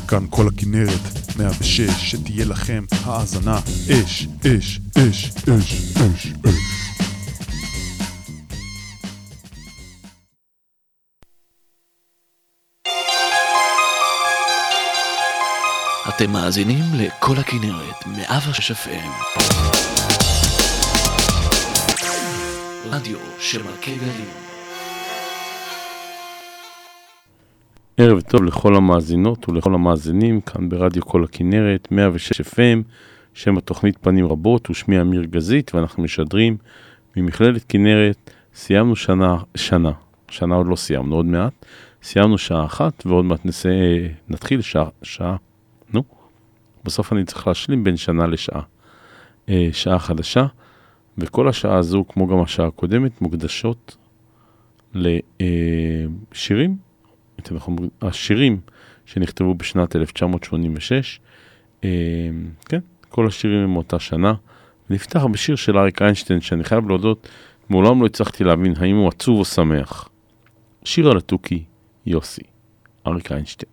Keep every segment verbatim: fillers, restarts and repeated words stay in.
כאן כל הכנרת מאה ושש, שתהיה לכם האזנה אש, אש, אש, אש, אש, אש. אתם מאזינים לכל הכנרת מאה ושש אף אם, רדיו שמלכי גלים. ערב טוב לכל המאזינות ולכל המאזינים כאן ברדיו כל הכנרת מאה ושש אף אם, שם התוכנית פנים רבות, ושמי אמיר גזית, ואנחנו משדרים ממכללת כנרת. סיימנו שנה, שנה, שנה עוד לא סיימנו, עוד מעט, סיימנו שעה אחת, ועוד מעט נסה, נתחיל שעה, שעה, נו, בסוף אני צריך להשלים בין שנה לשעה, שעה חדשה, וכל השעה הזו, כמו גם השעה הקודמת, מוקדשות לשירים, השירים שנכתבו בשנת אלף תשע מאות שמונים ושש, כן, כל השירים הם מאותה שנה. נפתח בשיר של אריק איינשטיין, שאני חייב להודות, מעולם לא הצלחתי להבין האם הוא עצוב או שמח. שיר על התוכי, יוסי, אריק איינשטיין.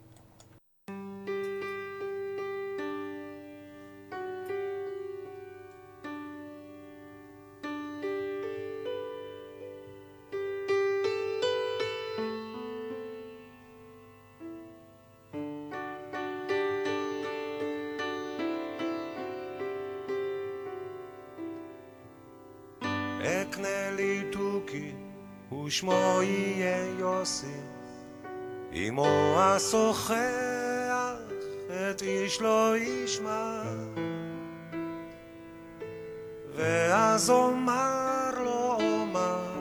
אקנה לי תוכי ושמו יהיה יוסי, אמו השוחח את איש לא ישמע, ואז אומר לו אומר,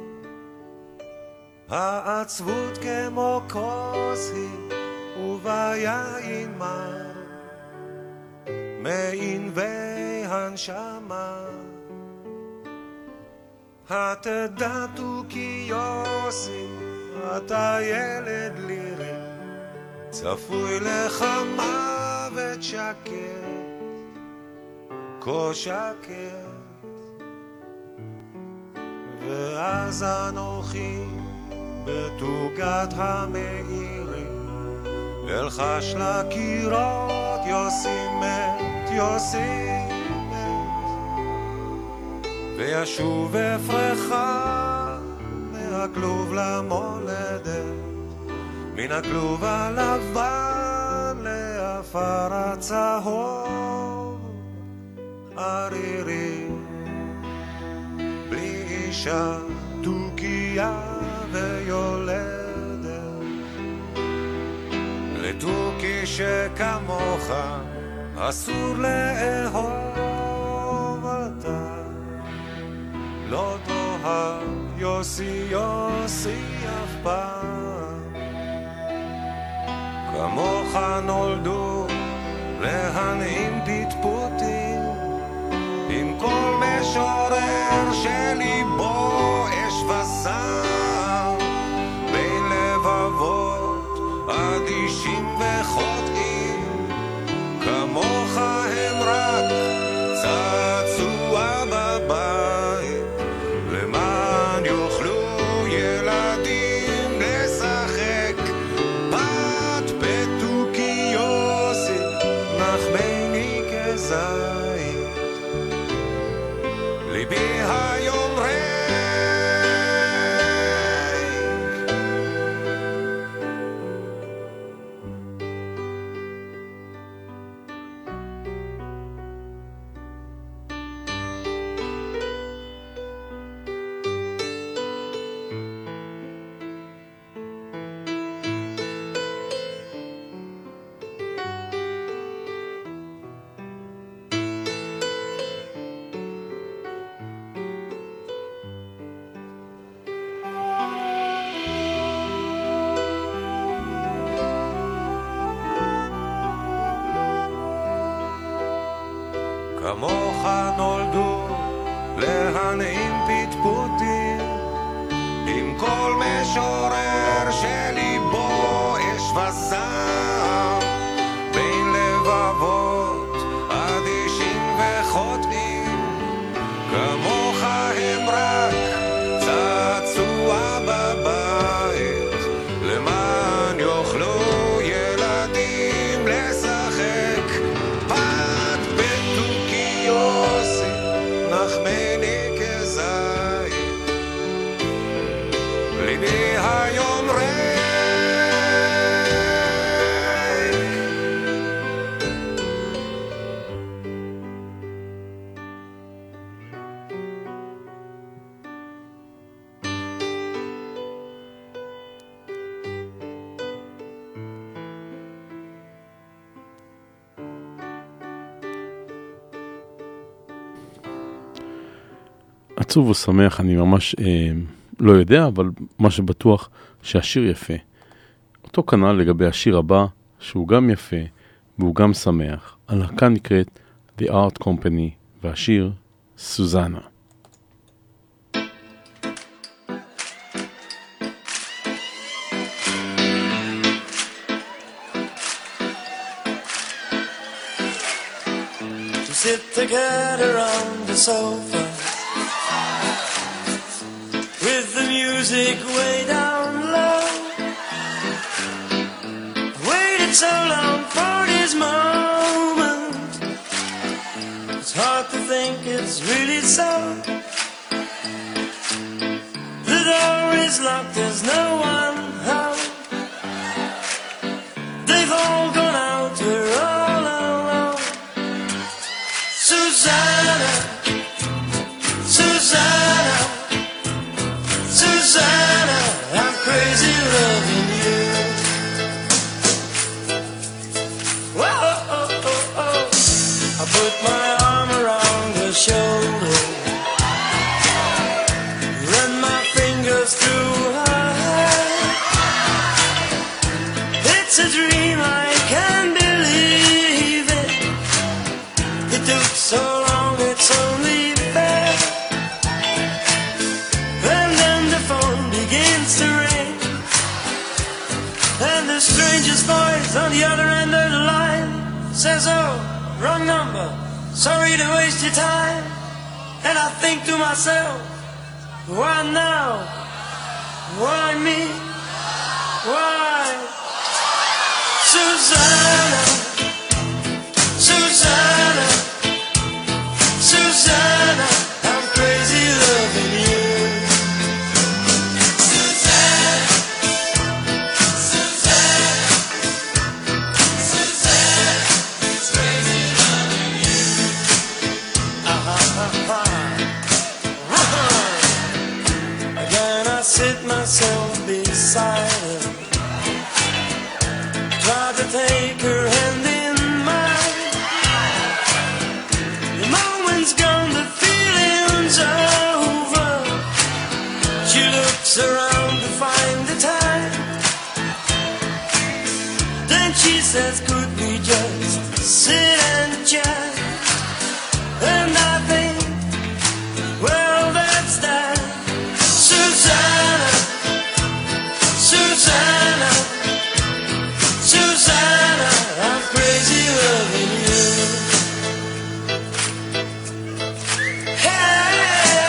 העצבות כמו כוס היא וביין מר, מענבי הנשמה. התדע תוכי יוסי, אתה ילד לירי, צפוי לך מוות שקט, כה שקט. ואז אנוכי בתוגת המאירי, אלחש לקירות, יוסי מת, יוסי וישוב אפרחה מהכלוב למולדת, מן הכלוב הלבן לאפר הצהוב, ערירי בלי אישה תוכיה ויולדת, לתוכי שכמוך אסור לאהוב אתה. לא תאהב יוסי יוסי אף פעם, כמוך נולדו להנעים פטפוטים, עם כל משורר שליבו אש וסר, בין לבבות אדישים וחוטאים, כמוך הם רק צעצוע בבית, למען יוכלו ילדים לשחק פת בתוכי יוסי, נחמני כזית, ליבי היום ריק. כמוך נולדו להנעים פטפוטים, עם כל משורר שליבו אש וסר, בין לבבות אדישים וחוטאים, כמוך הם רק צעצוע בבית, למען יוכלו ילדים עצוב או שמח, אני ממש אה, לא יודע, אבל מה שבטוח שהשיר יפה. אותו כנ"ל לגבי השיר הבא, שהוא גם יפה והוא גם שמח. הלהקה נקראת The Art Company, והשיר סוזנה. Sit together on the sofa with the music way down low. Waited so long for this moment. It's hard to think it's really so. The door is locked, there's no one home. They've all gone out, we're all alone. Susanna, Susanna, Susanna, I'm crazy loving you. Whoa, oh, oh, oh. I put my arm around her shoulder, run my fingers through her hair. It's a dream, I can't believe it. It took so long, it's only fair. And then the phone begins to ring, and the stranger's voice on the other end of the line says, oh, wrong number, sorry to waste your time. And I think to myself, why now? Why me? Why? Susanna, Susanna, Susanna, I'm crazy loving you. Susanna, Susanna, Susanna, it's crazy loving you. Uh-huh, uh-huh. Again I sit myself beside her, try to take her hand in mine. The moment's gone, the feeling's over. She looks around to find the time. Then she says, could we just sit and chat? And I think, well, that's that. Susanna, Susanna, Susanna, I'm crazy loving you. Hey.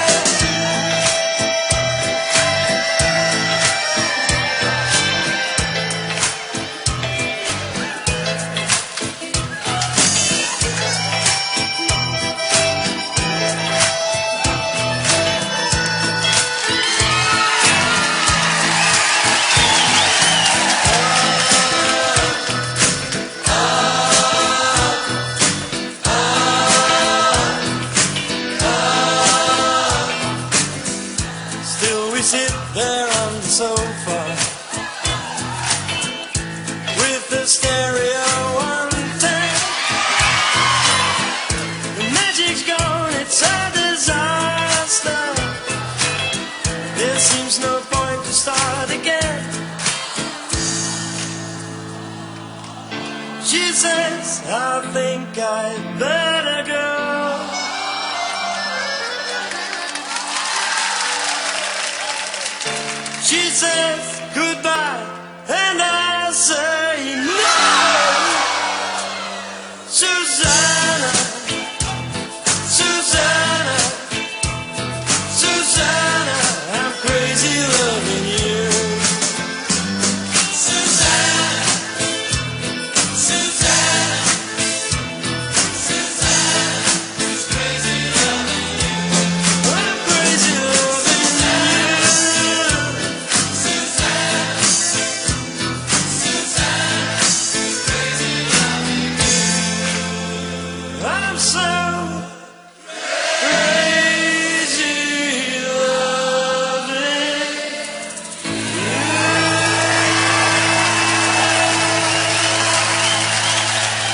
Still we sit there on the sofa with the stereo on ten. The magic's gone, it's a disaster. There seems no point to start again. She says, I think I'd better go. She says goodbye, and I say no. Susanna, Susanna, Susanna, I'm crazy loving you. Susanna, Susanna, Susanna, it's crazy loving you. I'm crazy loving you. I'm so crazy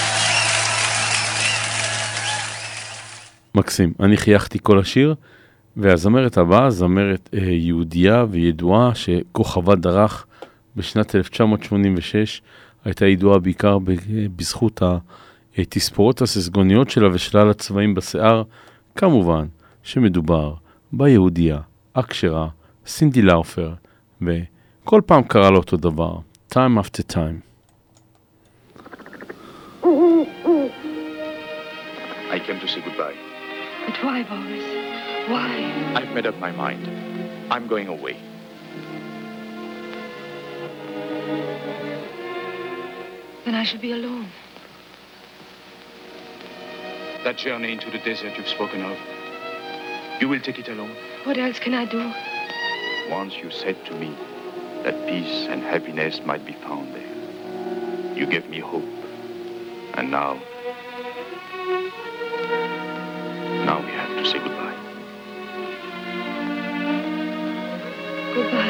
מקסים. אני חייכתי כל השיר, והזמרת הבאה, זמרת אה, יהודייה וידועה שכוכבה דרך בשנת אלף תשע מאות שמונים ושש, הייתה ידועה בעיקר בזכות התספורות הססגוניות שלה ושלל הצבעים בשיער, כמובן שמדובר ביהודייה, אקשרה, סינדי לאופר, וכל פעם קרה לו אותו דבר, time after time. I came to say goodbye. But why, Boris? Why? I've made up my mind. I'm going away. Then I shall be alone. That journey into the desert you've spoken of, you will take it alone? What else can I do? Once you said to me that peace and happiness might be found there. You gave me hope. And now, now we have to say goodbye. Goodbye.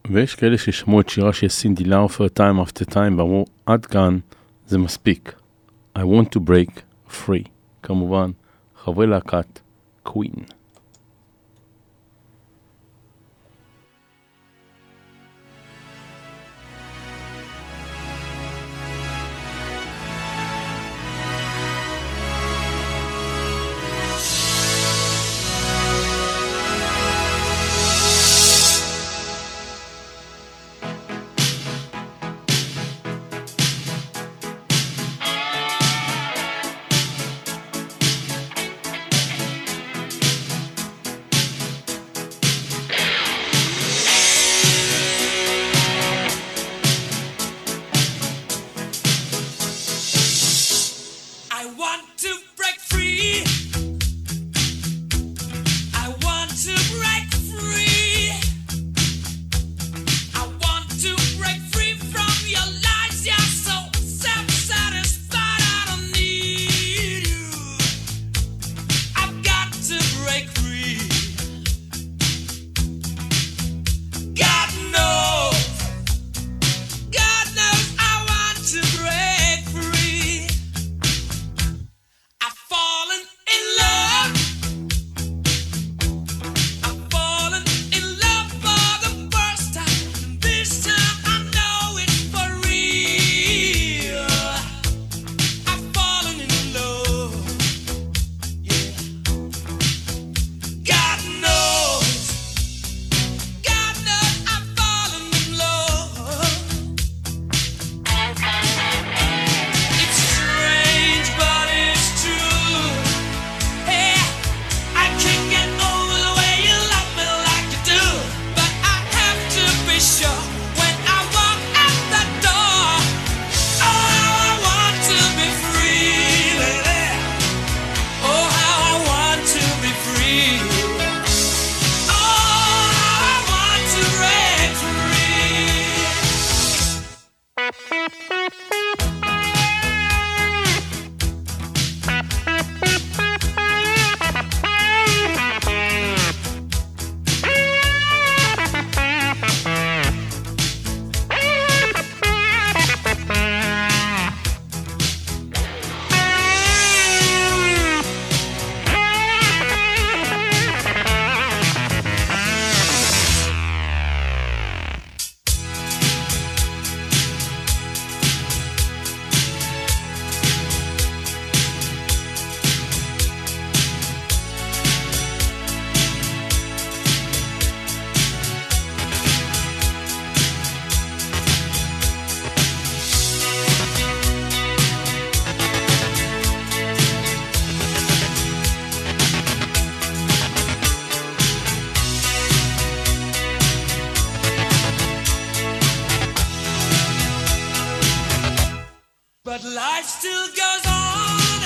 ויש כאלה ששמעו את שירה של סינדי לאופר Time After Time ואמרו, עד כאן זה מספיק. I want to break free. כמובן, חברי להקת קווין. But life still goes on.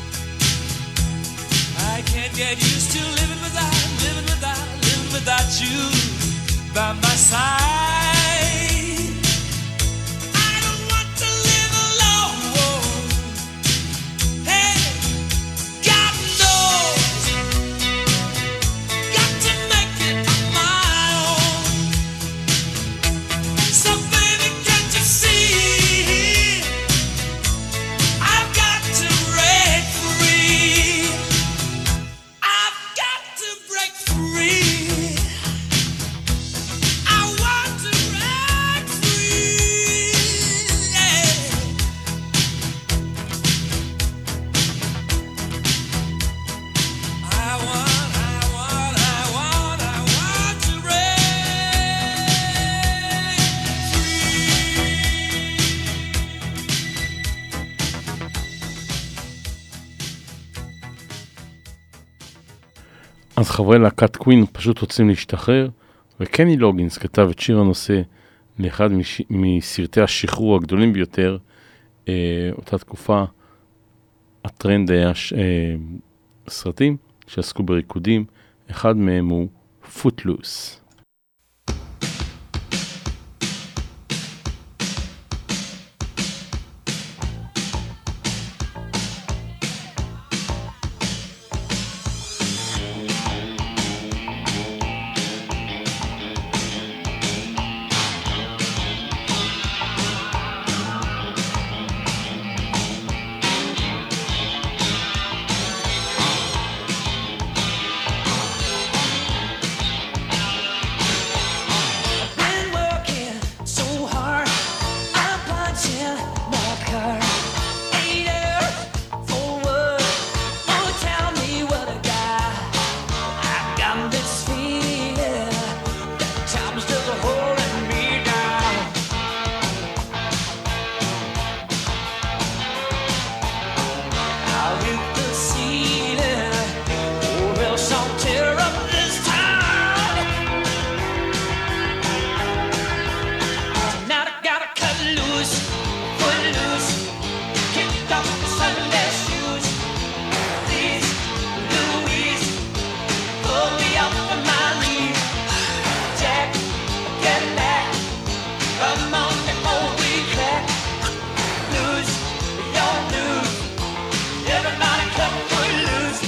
I can't get used to living without, living without, living without you by my side. I don't want to live alone. Hey, God knows, got to make it on my own. So baby, can't you see? אז חברי להקת קווין פשוט רוצים להשתחרר, וקני לוגינס כתב את שיר הנושא לאחד מש... מסרטי השחרור הגדולים ביותר. אה, אותה תקופה הטרנד היה ש... אה, סרטים שעסקו בריקודים, אחד מהם הוא Footloose. get back. Come on before we crack. Lose your blues. Everybody cut foot loose.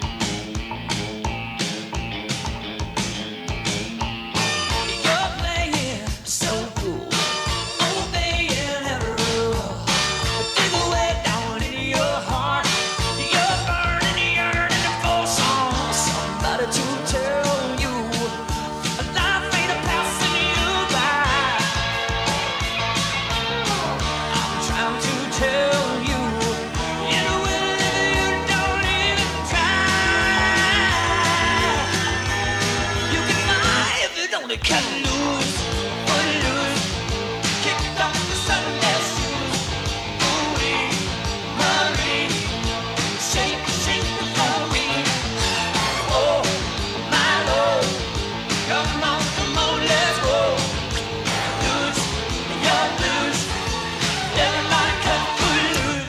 You're playing so cool. Obeying every rule. Dig away down in your heart. You're burning, yearning for some somebody to tell you life ain't a passing you by. I'm trying to tell you, in a way you don't even try. You can fly if you don't cut loose, put loose, kick off the Sunday shoes. Ooh-wee, Marie, shake, shake the glory. Oh, my Lord, come on, come on, let's go. Lose your blues, everybody cut foot loose.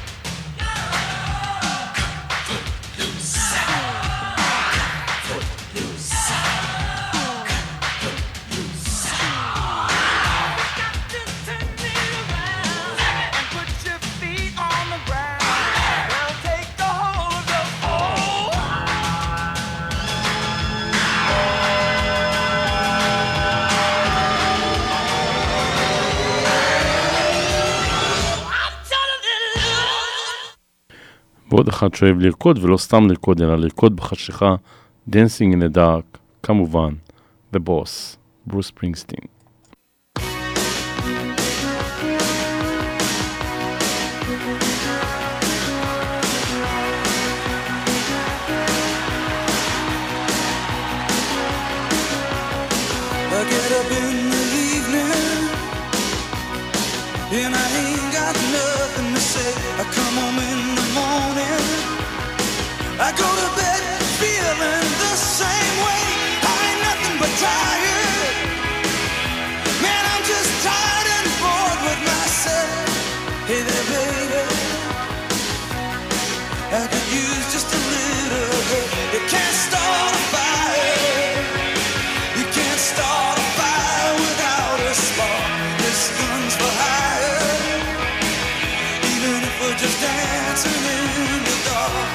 ועוד אחד שאוהב לרקוד, ולא סתם לרקוד, אלא לרקוד בחשיכה, Dancing in the Dark, כמובן, The Boss, ברוס ספרינגסטין. I get up in the evening and I ain't got nothing to say. I come home in the morning, I go to bed feeling the same way. I ain't nothing but tired. Man, I'm just tired and bored with myself. Hey there, baby, I could use just a little help. You can't start a fire. You can't start a fire without a spark. This gun's for hire. Even if we're just dancing in the dark.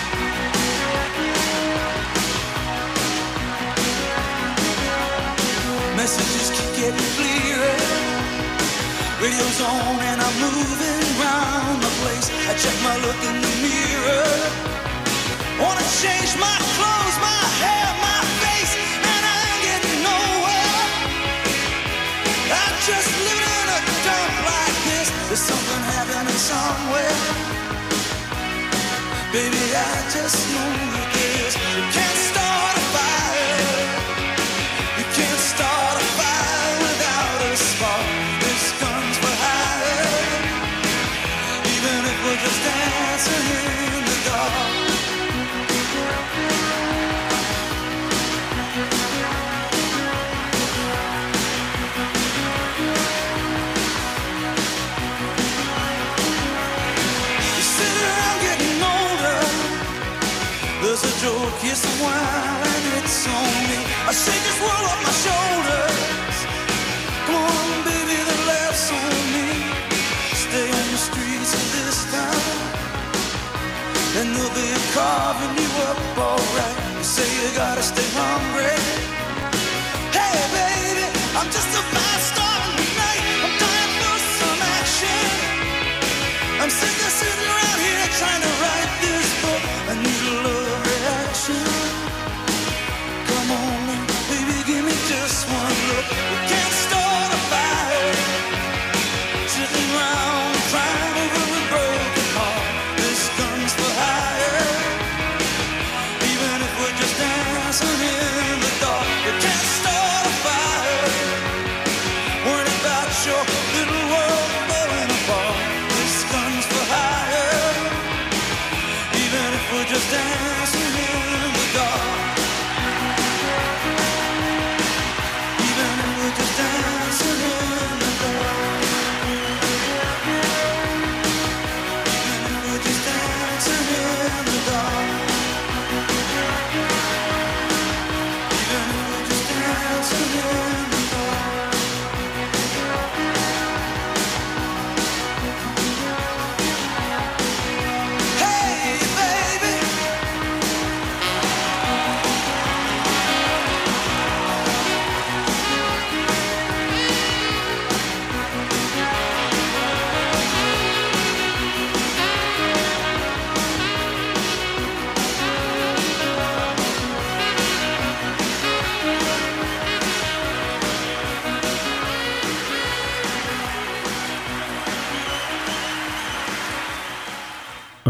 Messages keep getting clearer. Radio's on and I'm moving round the place. I check my look in the mirror. Wanna change my clothes, my hair, my face, and I ain't getting nowhere. I'm just living in a dump like this. There's something happening somewhere. Baby, I just know that this. You can't start a fire. You can't start a fire without a spark. This gun's for hire. Even if we're just dancing in the dark. You sit around getting older. There's a joke, yes, a while, and it's on me. I shake this world off my shoulders. Come on, baby, the laughs on me. Stay on the streets of this town, and they'll be carving you up alright. You say you gotta stay hungry. Hey, baby, I'm just about starting tonight. I'm dying for some action. I'm sick of sitting around here trying to write this book. I need a love reaction. Come on, baby, give me just one look. We can't start a fire, sitting around crying over a broken heart. This gun's for hire. Even if we're just dancing in the dark.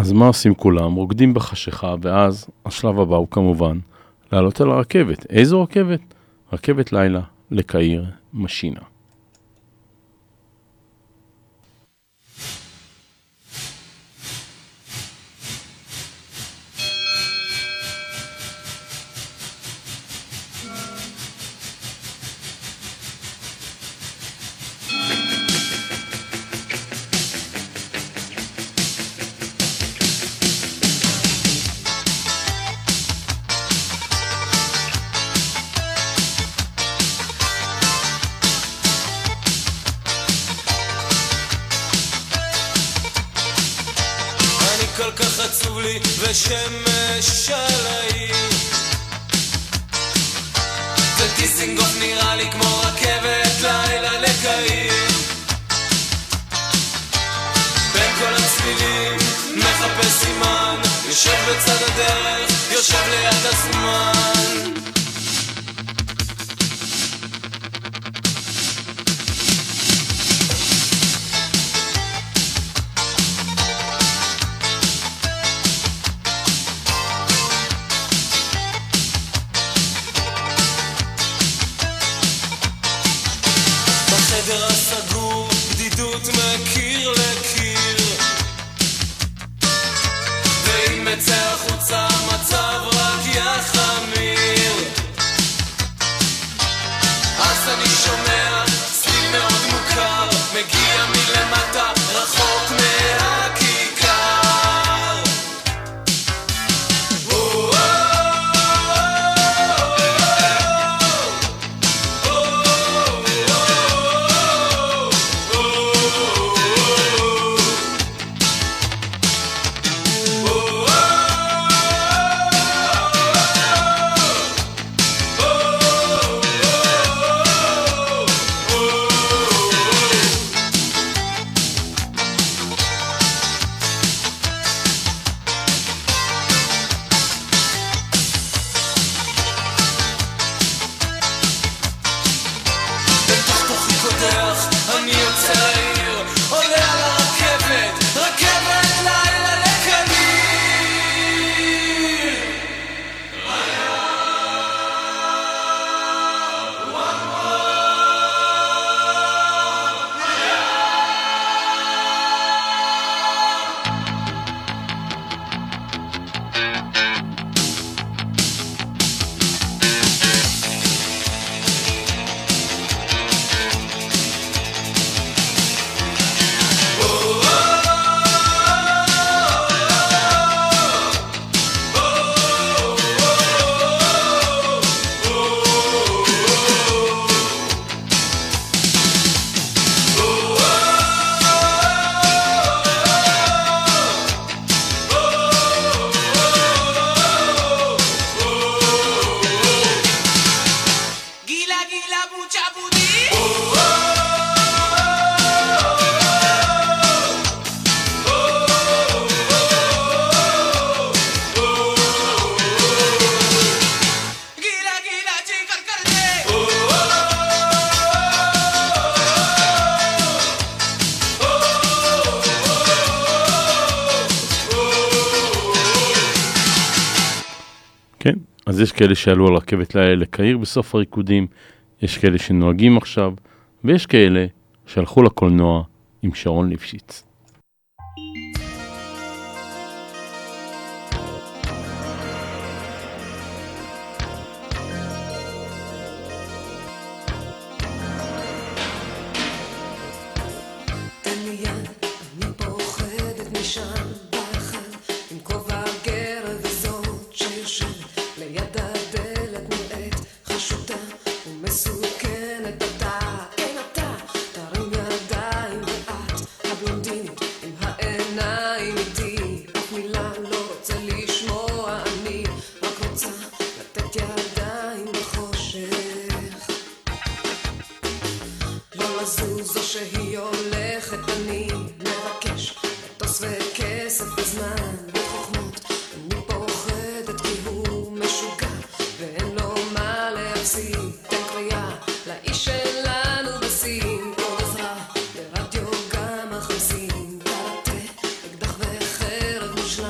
אז מה עושים כולם? רוקדים בחשיכה, ואז השלב הבא הוא כמובן לעלות על הרכבת. איזו רכבת? רכבת לילה לקהיר משינה. ושמש על העיר ודיסינגוף נראה לי כמו רכבת לילה לקהיר בין כל הצלילים מחפש סימן יושב בצד הדרך יושב ליד הזמן אז יש כאלה שעלו על רכבת לילה לקהיר בסוף הריקודים, יש כאלה שנוהגים עכשיו, ויש כאלה שהלכו לקולנוע עם שרון ליפשיץ. אקדח וחרב מושלם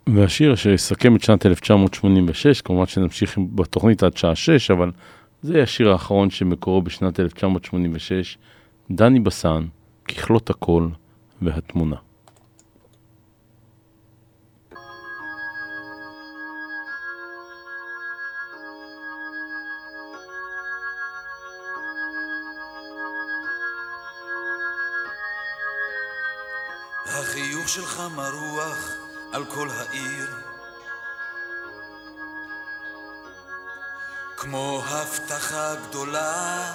והשיר אשר יסכם את שנת אלף תשע מאות שמונים ושש, כמובן שנמשיך בתוכנית עד שעה שש, אבל זה יהיה השיר האחרון שמקורו בשנת אלף תשע מאות שמונים ושש, דני בסן, ככלות הכל והתמונה. החיוך שלך מרוח על כל העיר, כמו הבטחה גדולה,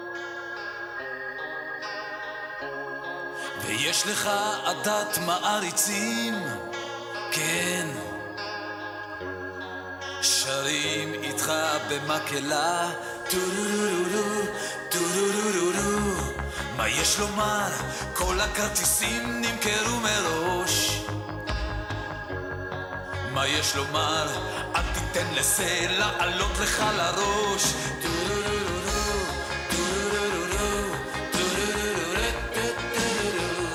ויש לך עדת מעריצים, כן, שרים איתך במקהלה, טורורורור, טורורורור. מה יש לומר? כל הכרטיסים נמכרו מראש. מה יש לומר? אל תיתן לזה לעלות לך לראש. טורורורור, טורורורור, טורורורור, טורורורור.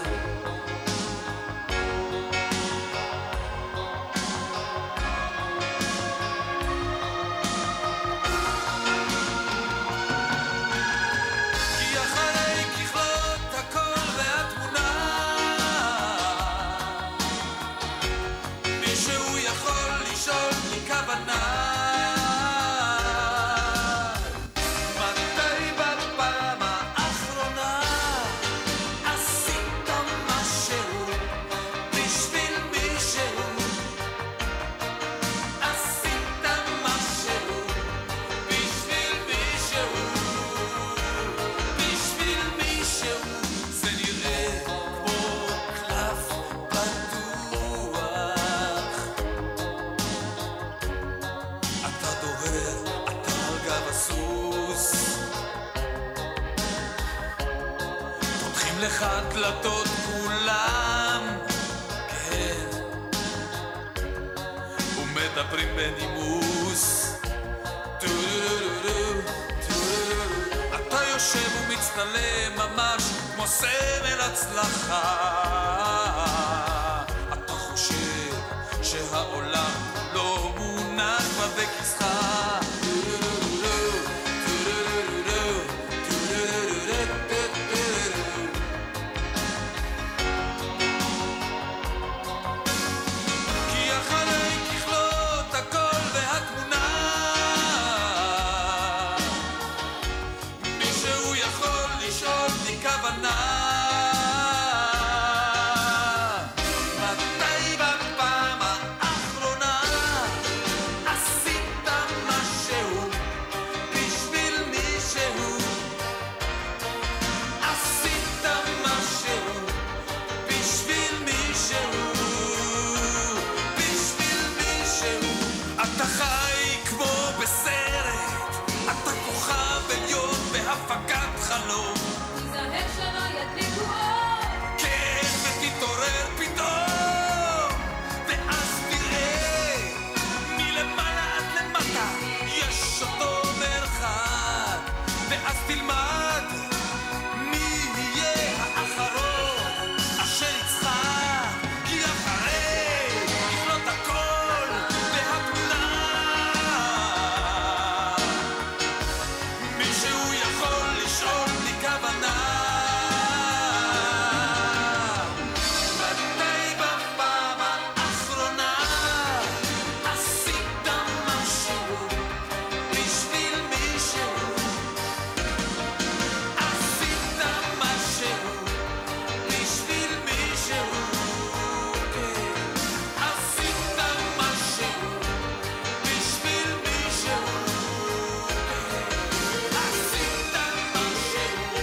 כי אחרי ככלות הכל והתמונה, מישהו יכול לשאול לי כוונה, מתי בפעם האחרונה עשית משהו בשביל מישהו, עשית משהו בשביל מישהו, בשביל מישהו. זה נראה כמו קלף פתוח, אתה דוהר, אתה על גב הסוס, פותחים לך דלתות כולם, כן, ומדברים בנימוס, טורורורור, טורורורור. אתה יושב ומצטלם ממש כמו סמל הצלחה, אתה חושב שהעולם לא מונח כבר בכיסך, טורורורור, טורורורור, טורורורור, טורורורור. כי אחרי ככלות הכל והתמונה, מישהו יכול לשאול לי כוונה, מתי בפעם האחרונה עשית משהו בשביל מישהו, עשית משהו בשביל מישהו, בשביל מישהו. אתה חי כמו בסרט, אתה כוכב עליון בהפקת חלום, תיזהר שלא ידליקו אור, כן, ותתעורר פתאום, ואז תראה מלמעלה עד למטה יש אותו מרחק, ואז תלמד מי יהיה האחרון אשר יצחק. כי אחרי ככלות הכל והתמונה, מישהו יכול לשאול לי כוונה, מתי בפעם האחרונה עשית משהו בשביל מישהו, עשית משהו בשביל מישהו, כן, עשית משהו בשביל מישהו, כן, עשית משהו,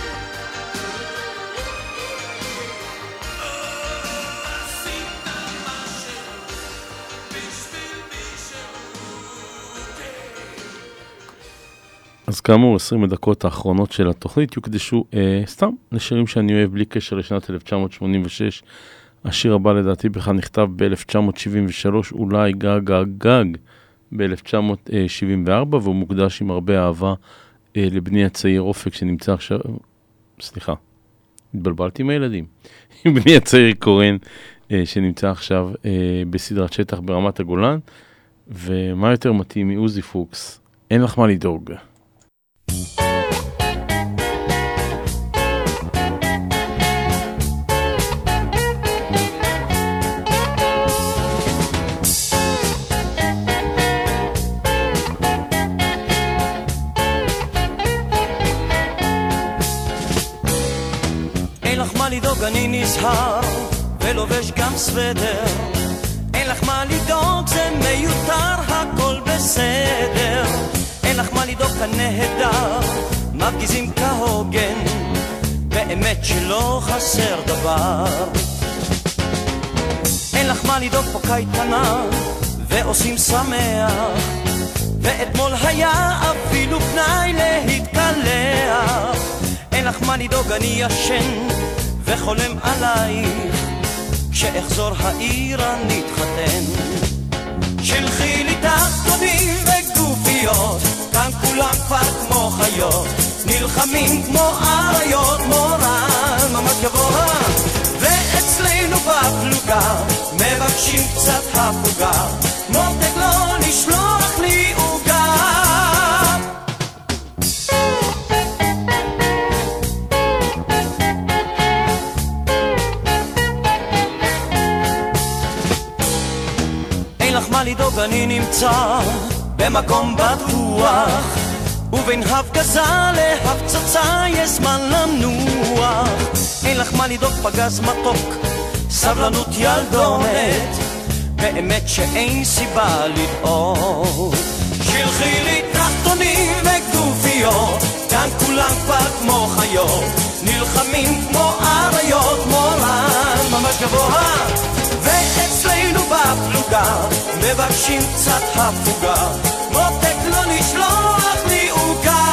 עשית משהו בשביל מישהו, כן. אז כאמור, עשרים הדקות האחרונות של התוכנית יוקדשו אה, סתם לשירים שאני אוהב בלי קשר לשנת אלף תשע מאות שמונים ושש. השיר הבא לדעתי בכלל נכתב ב-אלף תשע מאות שבעים ושלוש, אולי גג גג גג ב-אלף תשע מאות שבעים וארבע, והוא מוקדש עם הרבה אהבה אה, לבני הצעיר אופק שנמצא עכשיו, סליחה, התבלבלתי עם הילדים, עם בני הצעיר קורן שנמצא עכשיו בסדרת שטח ברמת הגולן, ומה יותר מתאים מעוזי פוקס? אין לך מה לדאוג. לדאוג, אני נזהר ולובש גם סוודר. אין לך מה לדאוג, זה מיותר, הכל בסדר. אין לך מה לדאוג, כנהדר, מפגיזים כהוגן, באמת שלא חסר דבר. אין לך מה לדאוג, פה קייטנה ועושים שמח, ואתמול היה אפילו פנאי להתקלח. אין לך מה לדאוג, אני ישן וחולם עלייך, כשאחזור העיר אני אתחתן. שלחי לי תחתונים וגופיות, כאן כולם כבר כמו חיות, נלחמים כמו אריות, מורל ממש גבוה. ואצלנו בפלוגה מבקשים קצת הפוגה, מותק לא לשלוח לי עוגה. מה לדאוג, אני נמצא במקום בטוח, ובין הפגזה להפצצה יש זמן לנוח. אין לך מה לדאוג, פגז מתוק, סבלנות ילדונת, באמת שאין סיבה לדאוג. שלחי לי תחתונים וגופיות, כאן כולם כבר כמו חיות, נלחמים כמו אריות, מורל ממש גבוה. ואצלנו בפלוגה מבקשים קצת הפוגה, מותק לא לשלוח לי עוגה.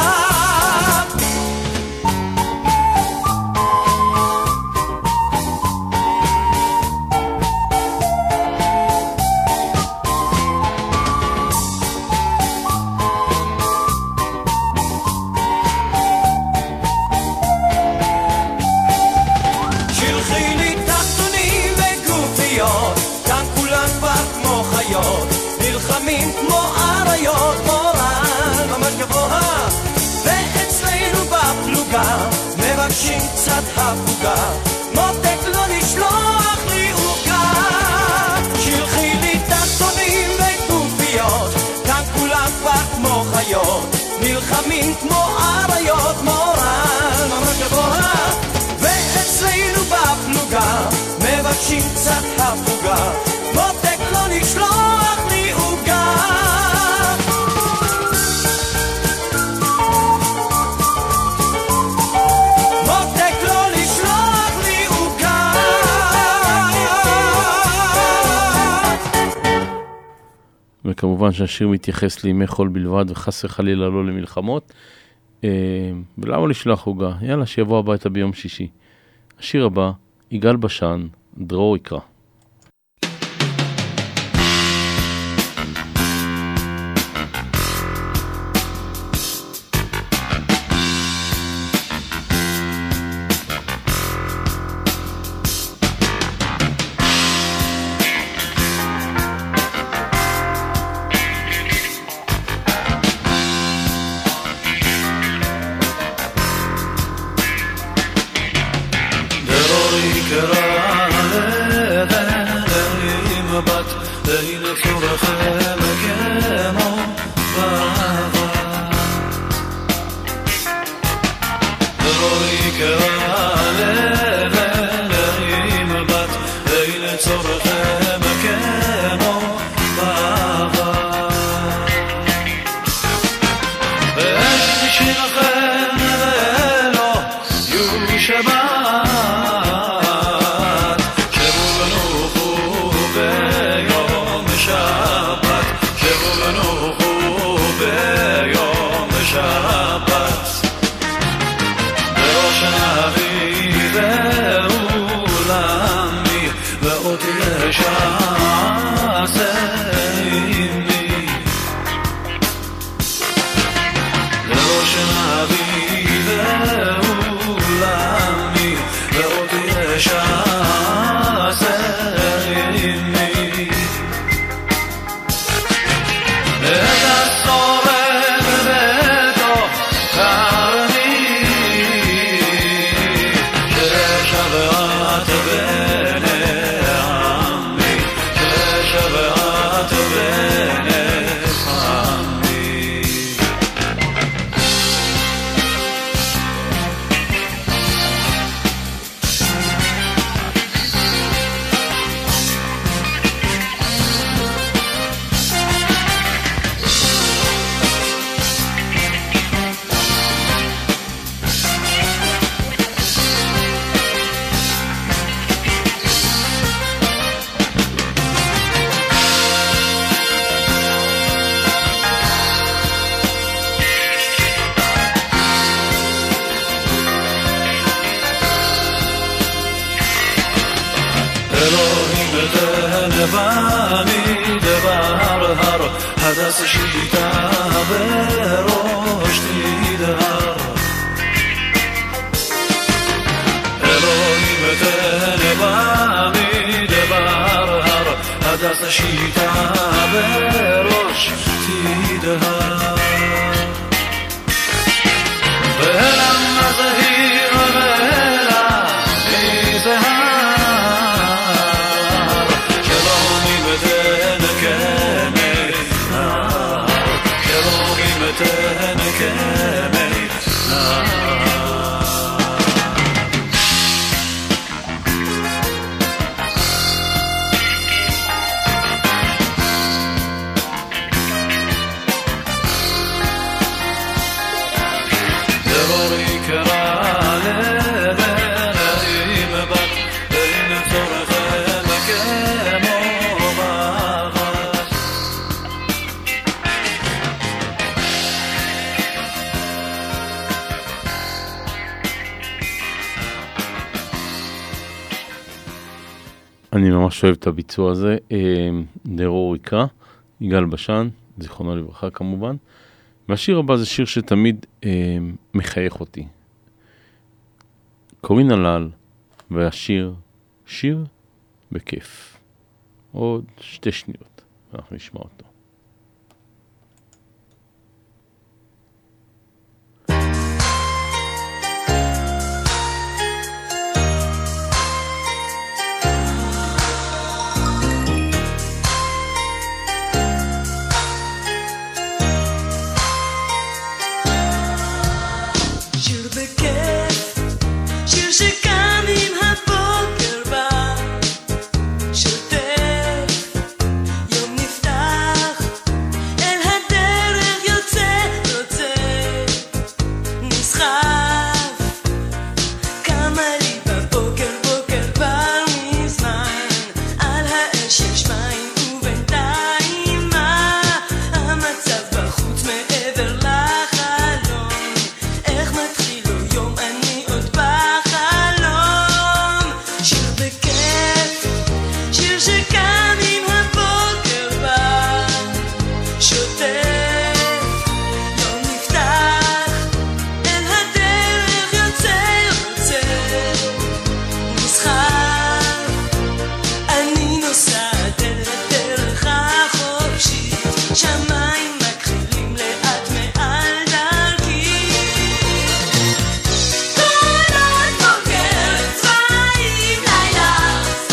נלחמים כמו אריות, מורל ממש גבוה. ואצלנו בפלוגה מבקשים קצת הפוגה, מותק לא לשלוח לי עוגה. שלחי לי תחתונים וגופיות, כאן כולם כבר כמו חיות, נלחמים כמו אריות, מורל ממש גבוה. ואצלנו בפלוגה מבקשים קצת הפוגה, מותק לא לשלוח לי עוגה. מותק לא לשלוח לי עוגה. וכמובן שהשיר מתייחס לימי חול בלבד וחס וחלילה לא למלחמות. ולמה לשלוח עוגה? יאללה, שיבוא הביתה ביום שישי. השיר הבא, יגאל בשן, דרור יקרא. הדס השיטה בראש תדהר אלוהים ותנבא מדבר הר הדס השיטה בראש תדהר והלם הזהיר והלם מזהר שלומים ותנקמי נהר שלומים ותנקמי נהר אני ממש אוהב את הביצוע הזה. דרור יקרא, יגאל בשן, זיכרונו לברכה כמובן. והשיר הבא זה שיר שתמיד אה, מחייך אותי. קורין הלל, והשיר שיר בכיף. עוד שתי שניות, ואנחנו נשמע אותו.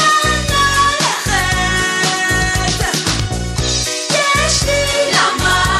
יש לי למה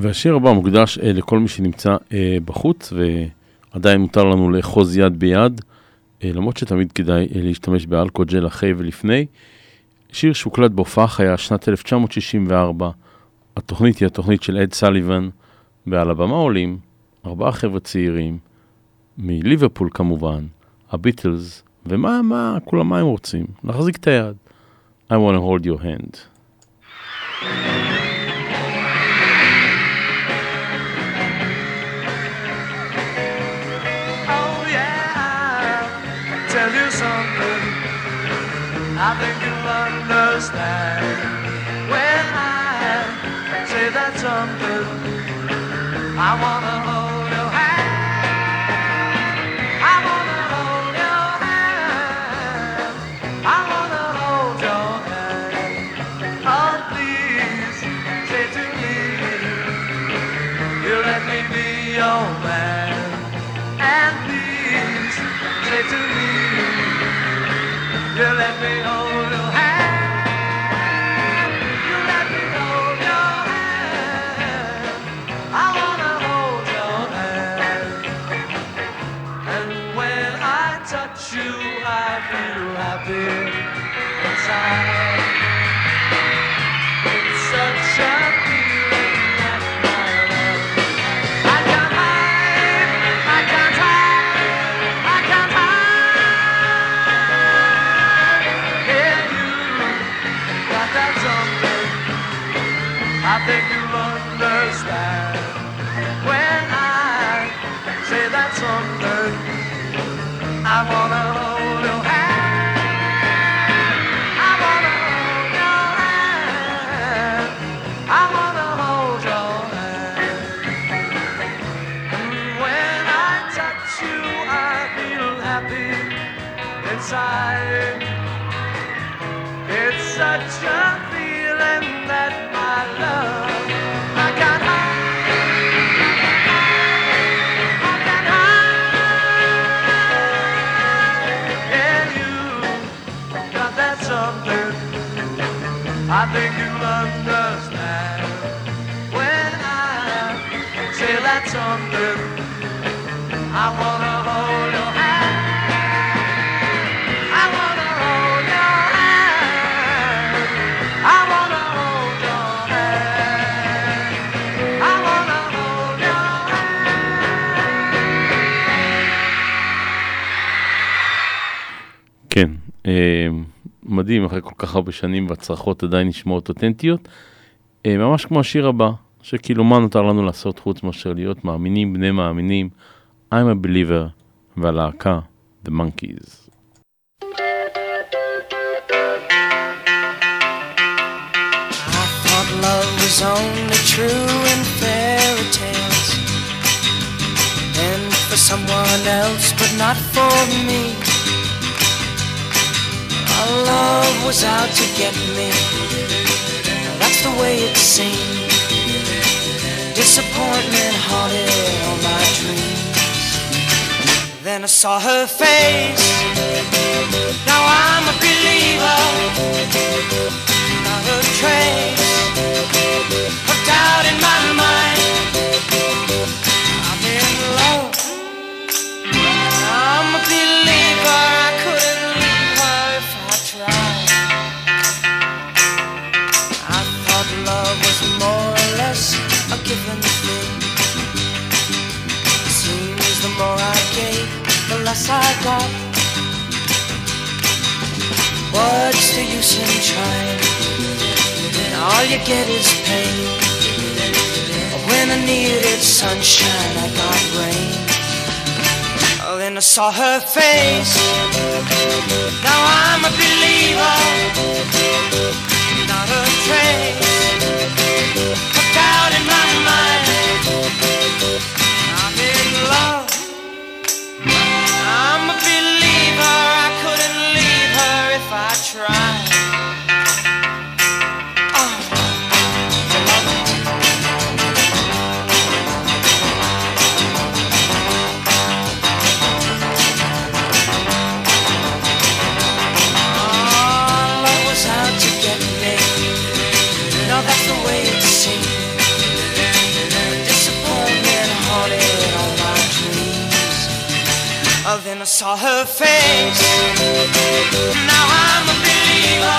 והשיר הבא מוקדש אה, לכל מי שנמצא אה, בחוץ, ועדיין מותר לנו לאחוז יד ביד, אה, למרות שתמיד כדאי אה, להשתמש באלכוג'ל אחרי ולפני. שיר שהוקלט בהופעה חיה שנת אלף תשע מאות שישים וארבע, התוכנית היא התוכנית של אד סליבן, ועל הבמה עולים ארבעה חבר'ה צעירים, מליברפול כמובן, הביטלס, ומה, מה, כולם מה הם רוצים? להחזיק את היד. I want to hold your hand. Oh yeah, tell you something I think you'll understand when I say that something. I wanna hold your hand. I wanna hold your hand. I wanna hold your hand. Oh please, say to me, you let me be your man. And please, say to me, you let me hold your hand. You let me hold your hand. I wanna hold your hand. And when I touch you, I feel happy inside. It's such a feeling that my love I can't hide, I can't hide, I can't hide. Yeah, you got that something I think you'll understand when I say that something. I wanna hold your hand. I wanna hold your hand. I wanna hold your hand. And when I touch you, I feel happy inside. It's such a feeling that my love I can't hide. I can't hide. Yeah, you got that something I think you'll understand when I say that something. I wanna hold your hand. I wanna hold your hand. I wanna hold your hand. I wanna hold your hand. כן, אה, מדהים, אחרי כל כך הרבה שנים והצרחות עדיין נשמעות אותנטיות. אה, ממש כמו השיר הבא, שכאילו מה נותר לנו לעשות חוץ מאשר להיות מאמינים, בני מאמינים, I'm a believer, והלהקה, The Monkees. I thought love was only true in fairy tales, and for someone else, but not for me. Our love was out to get me, that's the way it seemed. Disappointment haunted all my dreams. Then I saw her face, now I'm a believer. Not a trace of doubt in my mind. I'm in love, I'm a believer. I couldn't leave her if I tried. I thought love was more or less a given thing. Seems the more I gave, the less I got. What's the use in trying? All you get is pain. When I needed sunshine, I got rain. Oh, then I saw her face. Now I'm a believer. Not a trace of doubt in my mind. I'm in love. I'm a believer. I couldn't leave her if I tried. I saw her face. Now I'm a believer,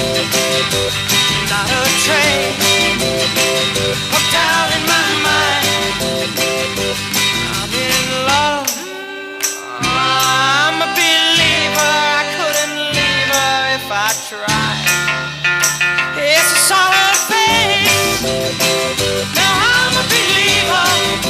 not a trace of doubt in my mind. I'm in love, I'm a believer. I couldn't leave her if I tried. Yes, I saw her face. Now I'm a believer,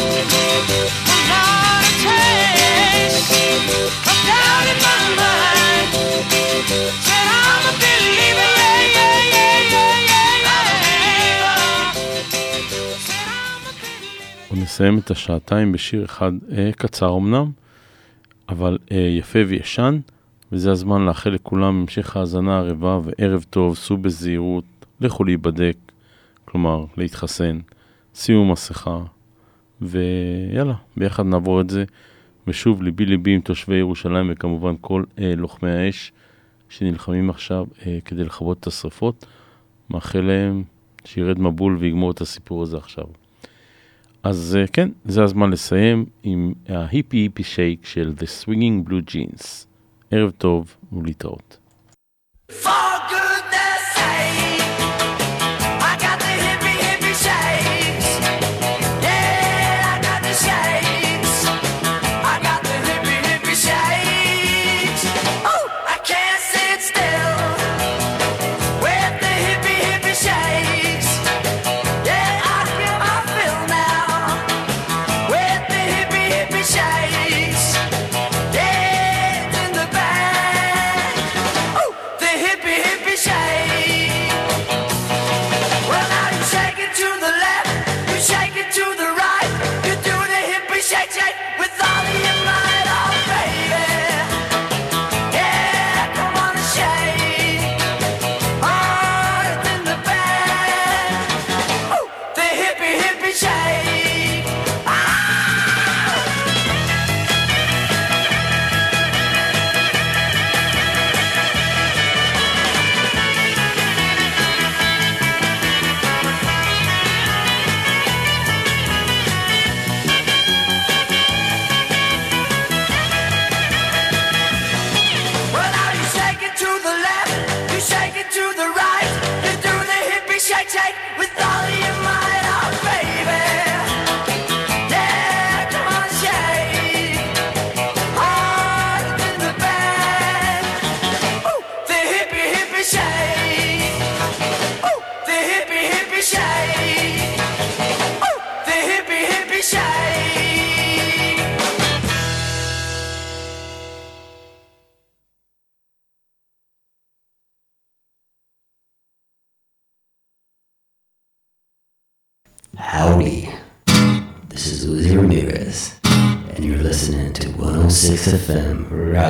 not a trace of doubt in my mind. Said I'm a believer, yeah, yeah, yeah, yeah, yeah, yeah. Said I'm a believer. ונסיים את השעתיים בשיר אחד אה, קצר אמנם, אבל אה, יפה וישן, וזה הזמן לאחל לכולם המשך האזנה ערבה וערב טוב, סעו בזהירות, לכו להיבדק, כלומר להתחסן, שימו מסכה, ויאללה, ביחד נעבור את זה. ושוב, ליבי ליבי עם תושבי ירושלים, וכמובן כל אה, לוחמי האש שנלחמים עכשיו אה, כדי לכבות את השרפות. מאחל להם שירד מבול ויגמור את הסיפור הזה עכשיו. אז אה, כן, זה הזמן לסיים עם ההיפי היפי שייק של The Swinging Blue Jeans. ערב טוב ולהתראות. For goodness sake, I got the hippie hippie shakes. Yeah, I got the shakes. I got the hippie hippie shakes. Oh, I can't sit still with the hippie hippie shakes. Yeah, I feel I feel now with the hippie hippie shakes. Yeah, it's in the bag. Oh, the hippie hippie shake. Well, now you shake it to the left, you shake it to the right, you do the hippie shake shake with all of your might, oh baby. Yeah, come on and shake. Oh, it's in the bag. Oh, the hippie hippie shake. Ah! Well, now you shake it to the left, you shake it to the right, you do the hippie shake shake with all of your might, oh baby. Yeah, come on and shake. Oh, it's in the bag. Ooh, the hippie hippie shake. Ooh, the hippie hippie shake. Ooh, the hippie hippie shake. Howdy, this is Uzi Ramirez, and you're listening to one oh six F M